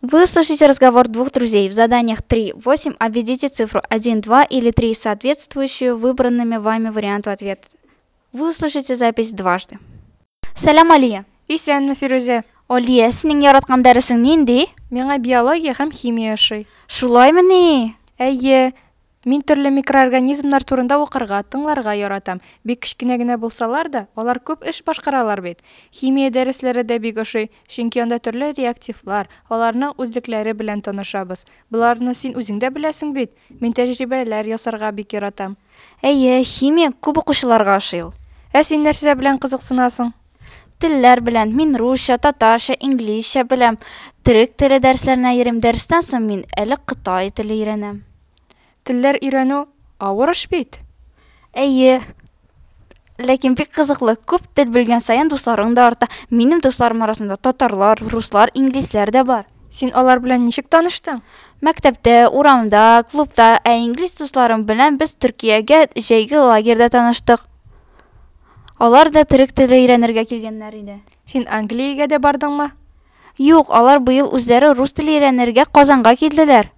Вы слышите разговор двух друзей. В заданиях 3, 8 обведите цифру 1, 2 или 3, соответствующую выбранными вами варианту ответа. Вы услышите запись дважды. Сәлам, Алия. Исәнме, Фирузе? Алия, синең яраткан дәресең нинди? Миңа биология һәм химия ошый. Шулаймы ни? Әйе, мин төрле микроорганизмнар турында укырга, тыңларга яратам. Бик кичкенә генә булсалар да, алар күп эш башкаралар бит. Химия дәресләре дә бик ошый, чөнки анда төрле реактивлар, аларның үзлекләре белән танышабыз. Буларны син үзең дә беләсең бит. Мин тәҗрибәләр ясарга бик яратам. Әйе, химия күп укучыларга ошый ул. Ә син нәрсә белән кызыксынасың? Телләр белән. Мин русча, татарча, инглизчә беләм. Төрек теле дәресләренә йөрим. Дәрестән соң мин әле Кытай теле өйрәнәм. Телләр өйрәнү авыр эш бит. Әйе. Ләкин бик кызыклы. Күп тел белгән саен дусларың да арта. Минем дусларым арасында татарлар, руслар, инглизләр дә бар. Син алар белән ничек таныштың? Мәктәптә, урамда, клубта, ә инглиз дусларым белән без Төркиягә җәйге лагерьда таныштык. Алар да төрек теле өйрәнергә килгәннәр иде. Син Англиягә дә бардыңмы? Юк, алар быел үзләре рус теле өйрәнергә Казанга килделәр.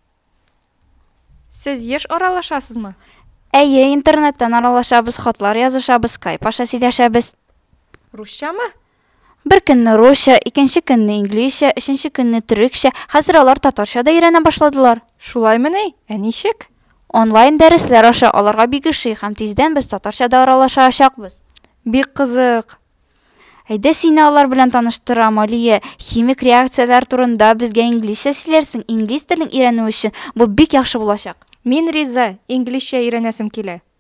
Сез еш аралашасызмы? Әйе, интернеттан аралашабыз, хатлар язышабыз, Skype аша сөйләшәбез. Русчамы? Бер көнне русча, икенче көнне инглизчә, өченче көнне төрекчә, хәзер алар татарча да өйрәнә башладылар. Шулаймы ни? Ә ничек? Онлайн дәресләр аша аларга бик ошый һәм тиздән без татарча да аралашачакбыз. Бик кызык. Әйдә сине алар белән таныштырам, Алия. Химик реакцияләр турында безгә инглизчә сөйләрсең. Инглиз телен өйрәнү өчен бу бик яхшы булачак. Мин риза, инглизчә өйрәнәсем килә.